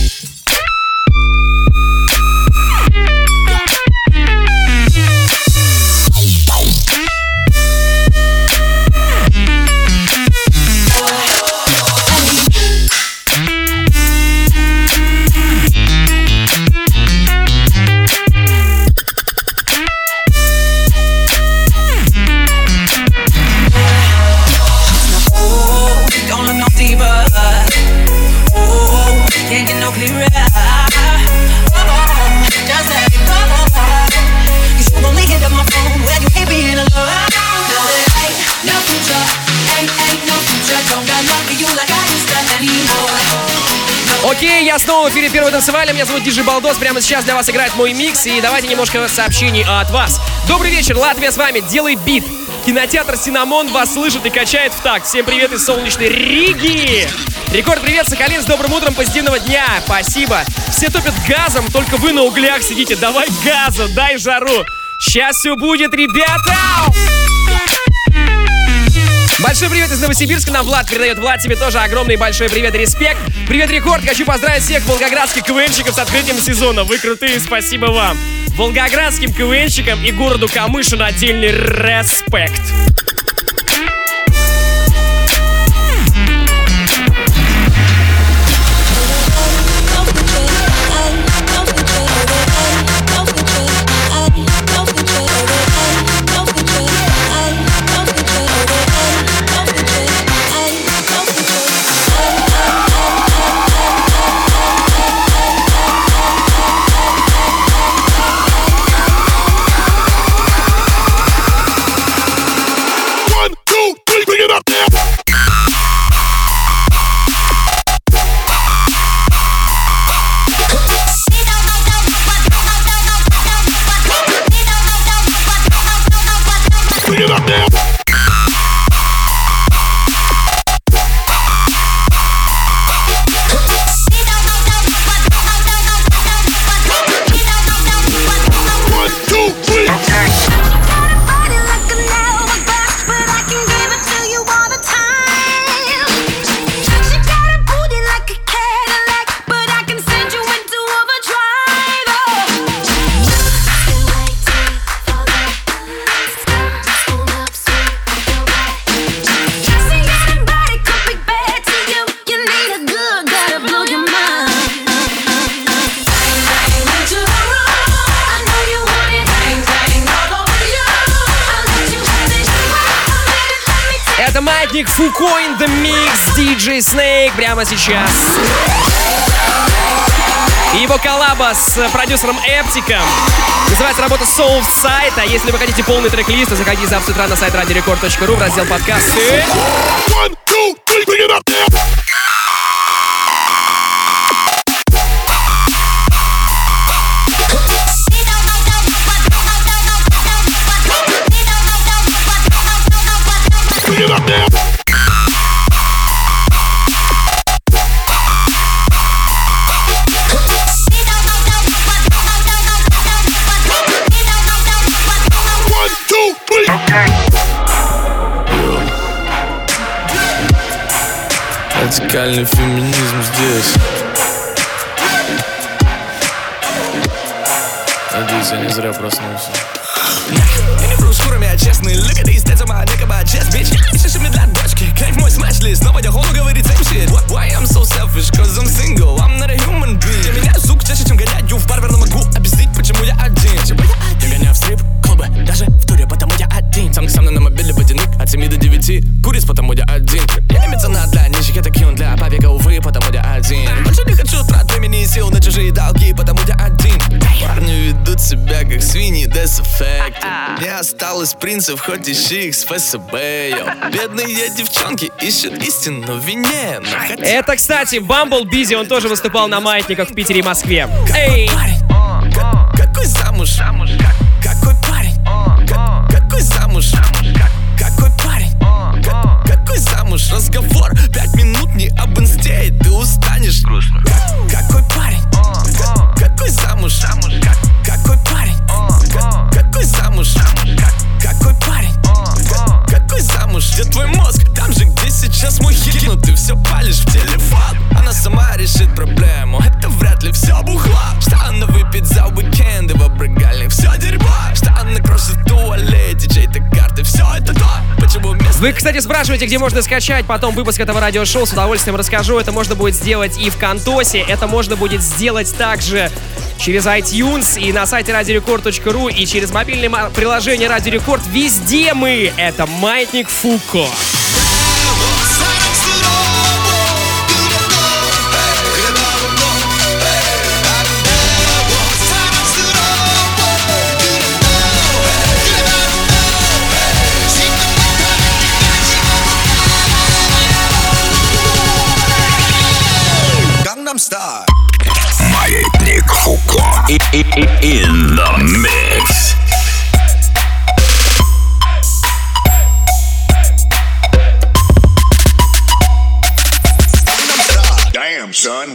Окей, я снова в эфире Первого танцевали. Меня зовут Диджей Балдос. Прямо сейчас для вас играет мой микс. И давайте немножко сообщений от вас. Добрый вечер, Латвия с вами. Делай бит. Кинотеатр Синамон вас слышит и качает в такт. Всем привет из солнечной Риги. Рекорд, привет, Сахалин, с добрым утром, позитивного дня. Спасибо. Все топят газом, только вы на углях сидите. Давай газа, дай жару. Сейчас все будет, ребята. Большой привет из Новосибирска, нам Влад передает. Влад, тебе тоже огромный большой привет и респект. Привет, Рекорд, хочу поздравить всех волгоградских КВНщиков с открытием сезона. Вы крутые, спасибо вам. Волгоградским КВНщикам и городу Камышин отдельный респект. Это Маятник Фуко in the Mix, DJ Snake прямо сейчас. И его коллаба с продюсером Эптиком. Называется работа Soul Side. А если вы хотите полный трек-лист, то заходите завтра с утра на сайт radiorecord.ru в раздел подкасты. One, two, three, bring it up there. Bring it up there. Радикальный феминизм здесь. Надеюсь, я не зря проснулся. Я не вру шкурами, а честный. Look at these stats, my nigga, my chest, bitch. Пишешь для дочки, кайф мой смэш-лист. Но по дихону говорит same shit. Why I'm so selfish, cause I'm single. I'm not a human being. Я меняю звук чаще, чем гоняю в барбер, но могу объяснить, почему я один. Я гоняю в стрип-клубы, даже в туре, потому я один. Сам со мной на мобиле водяник, от 7 до 9. Куриц, потому я один. Я не меценат для нищих, это кьюн для побега, увы, потому я один. Больше не хочу трат времени и сил на чужие долги, потому я один. Парни ведут себя как свиньи, that's a fact. Не осталось принцев, хоть ищи их с ФСБ. Бедные девчонки ищут истину в вине. Это, кстати, Bumble Busy, он тоже выступал на маятниках в Питере и Москве. Эй! Какой замуж? Какой парень? Какой замуж? Какой парень? Какой замуж? Разговор 5 минут не об инсте, и ты устанешь. Какой парень? Какой замуж? Какой парень? Какой замуж? Какой парень? Какой замуж? Где твой мозг? Там же, где сейчас мой хит. Но ты все палишь в телефон. Она сама решит проблему. Это вряд ли все бухло. Что она выпьет за уикенды в обрыгальник? Все дерьмо. Что она крошит в туалете чьей-то карты? Все это то. Почему вместо... Вы, кстати, спрашиваете, где можно скачать потом выпуск этого радиошоу. С удовольствием расскажу. Это можно будет сделать и в Кантосе. Это можно будет сделать также через iTunes и на сайте radiorecord.ru и через мобильное приложение Radio Record. Везде мы. Это Маятник Фуко. Маятник Фуко in the mix. Damn, son.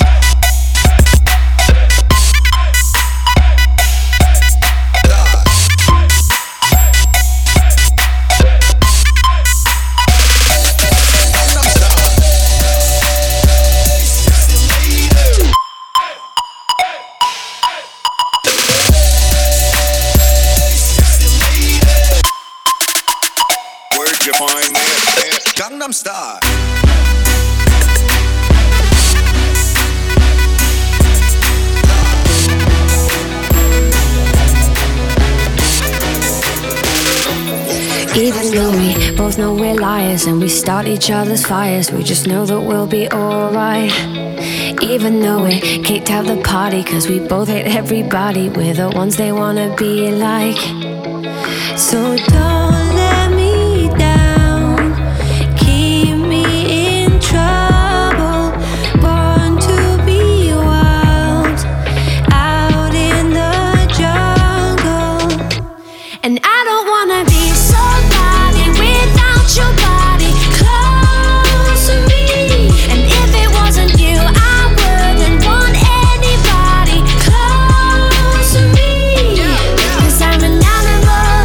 Gangnam Style. Even though we both know we're liars and we start each other's fires, we just know that we'll be alright. Even though we kicked out the party cause we both hate everybody, we're the ones they wanna be like. So don't let me down, keep me in trouble, born to be wild, out in the jungle. And I don't wanna be somebody without your body close to me. And if it wasn't you, I wouldn't want anybody close to me. Cause I'm an animal,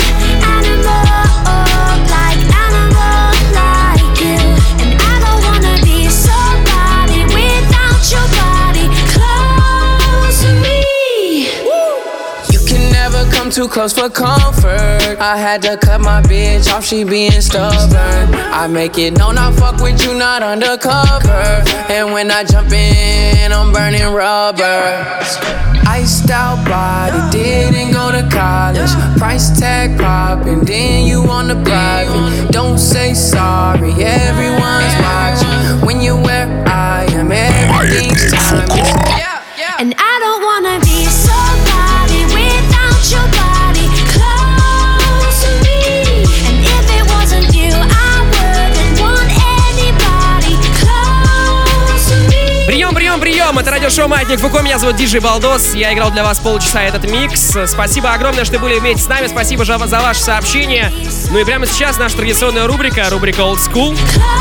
like you. And I don't wanna be somebody without your body close to me. You can never come too close for comfort. I had to cut my bitch off, she being stubborn. I make it known I fuck with you, not undercover. And when I jump in, I'm burning rubber. Iced out body, didn't go to college. Price tag popping, then you on the private. Don't say sorry, everyone's watching. When you're where I am, everything's time. And I don't wanna be somebody without your body close to me. And if it wasn't you, I wouldn't want anybody close to me. Прием! Это радиошоу «Маятник Фуко». Меня зовут Диджей Балдос. Я играл для вас полчаса этот микс. Спасибо огромное, что были вместе с нами. Спасибо за ваши сообщения. Ну и прямо сейчас наша традиционная рубрика Old School.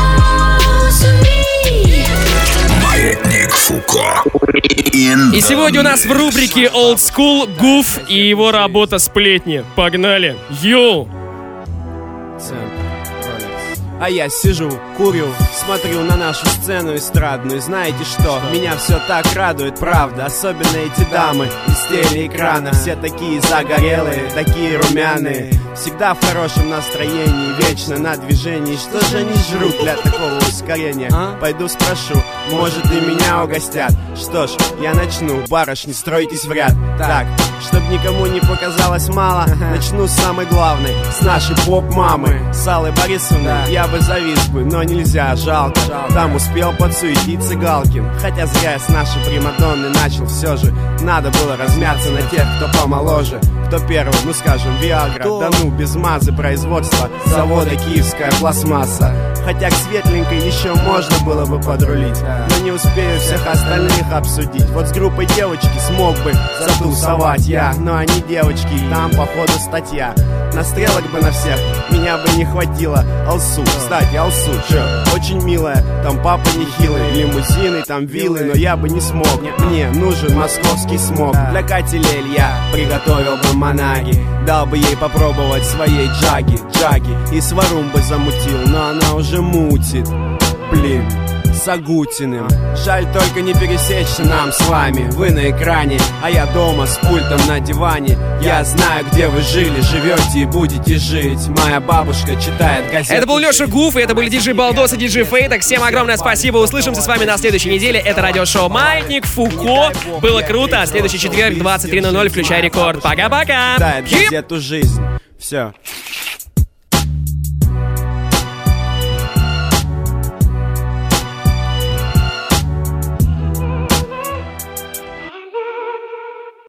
Маятник Фуко. И сегодня у нас в рубрике Old School Гуф и его работа «Сплетни». Погнали! Йоу! А я сижу, курю, смотрю на нашу сцену эстрадную. Знаете что? Меня все так радует, правда. Особенно эти дамы из телеэкрана. Все такие загорелые, такие румяные. Всегда в хорошем настроении, вечно на движении. Что же они жрут для такого ускорения? Пойду спрошу, может и меня угостят. Что ж, я начну, барышни, стройтесь в ряд. Так, чтоб никому не показалось мало, начну с самой главной, с нашей поп-мамы, с Аллой Борисовной. Я бы завис бы, но нельзя, жалко. Там успел подсуетиться Галкин. Хотя зря я с нашей примадонны начал. Все же надо было размяться на тех, кто помоложе. Кто первый, ну скажем, Виагра. Да ну, без мазы производства завода Киевская пластмасса. Хотя к светленькой еще можно было бы подрулить, но не успею всех остальных обсудить. Вот с группой девочки смог бы затусовать я, но они девочки, и там походу статья. На стрелок бы на всех меня бы не хватило. Алсу, кстати, Алсу, чё, очень милая. Там папа нехилый, лимузины, там виллы, но я бы не смог. Мне нужен московский смог. Для Кати Лель я приготовил бы манаги, дал бы ей попробовать своей джаги. И сварум бы замутил, но она уже мутит. Блин, с Агутиным. Жаль только не пересечься нам с вами. Вы на экране, а я дома с пультом на диване. Я знаю, где вы жили, живете и будете жить. Моя бабушка читает газеты. Это был Леша Гуф, и это были диджей Балдос и диджей Фейтак. Всем огромное спасибо, услышимся с вами на следующей неделе. Это радиошоу «Маятник Фуко». Было круто. Следующий четверг, 23:00, включай рекорд. Пока-пока. Читает газету «Жизнь». Все.